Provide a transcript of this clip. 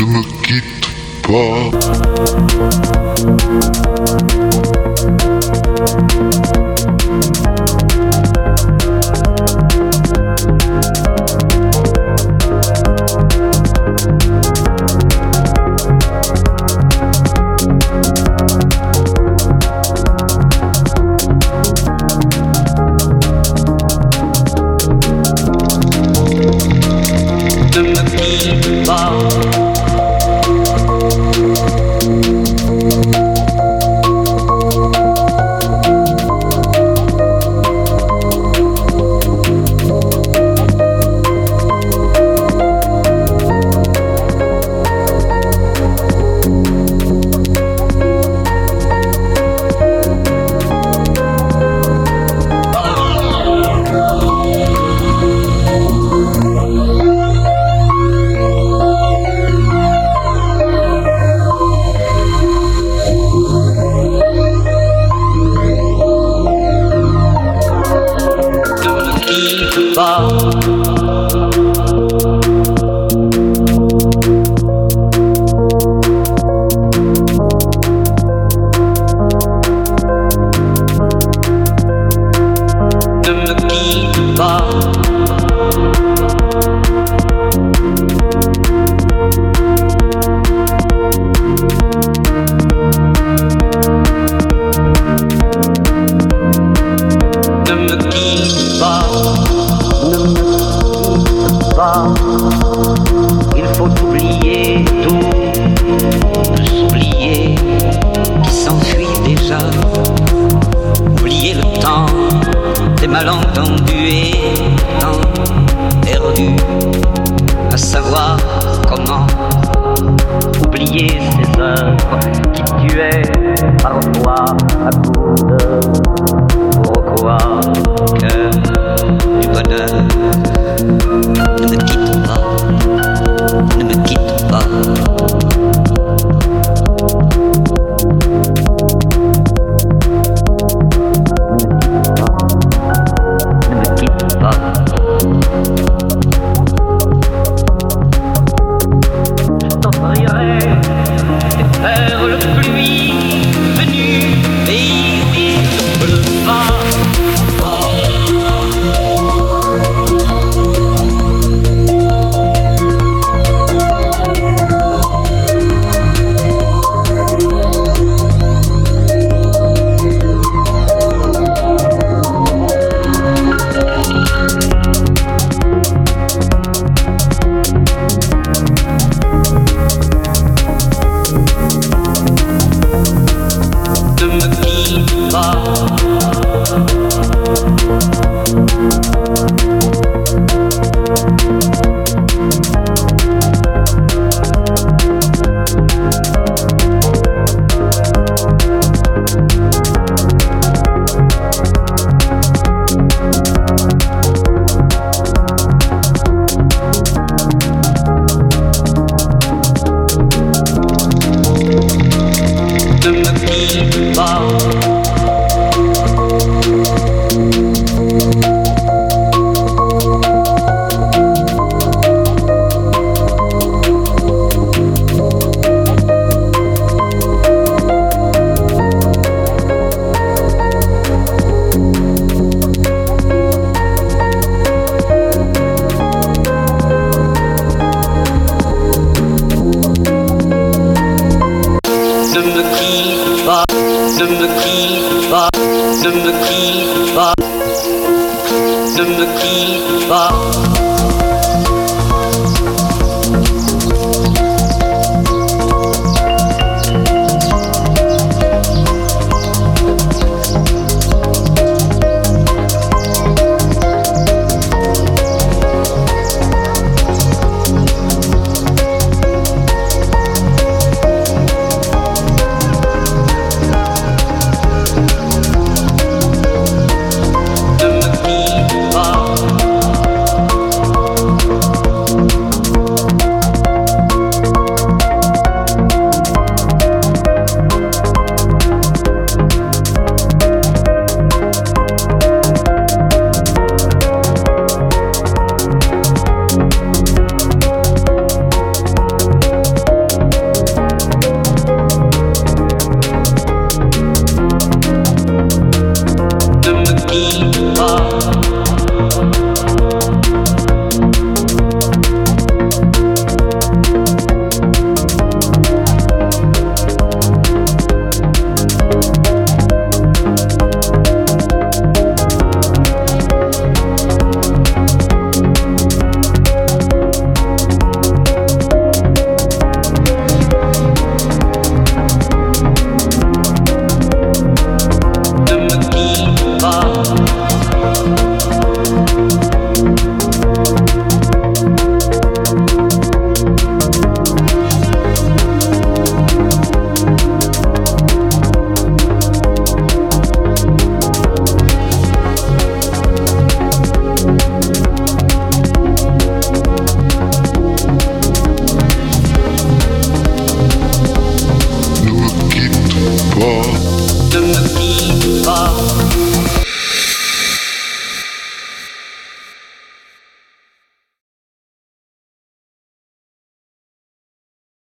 Ne me quitte pas. Il faut oublier tout, s'oublier qui s'enfuit déjà. Oublier le temps des malentendus et temps perdu à savoir comment. Oublier ces œuvres qui tuaient parfois à coups de pourquoi cœur du bonheur. Ne me quitte pas, ne me quitte pas. Ne me quitte pas. Je t'offrirai des perles de pluie venues pays où le vent. Ne me quitte pas, ne me quitte pas, ne me quitte pas.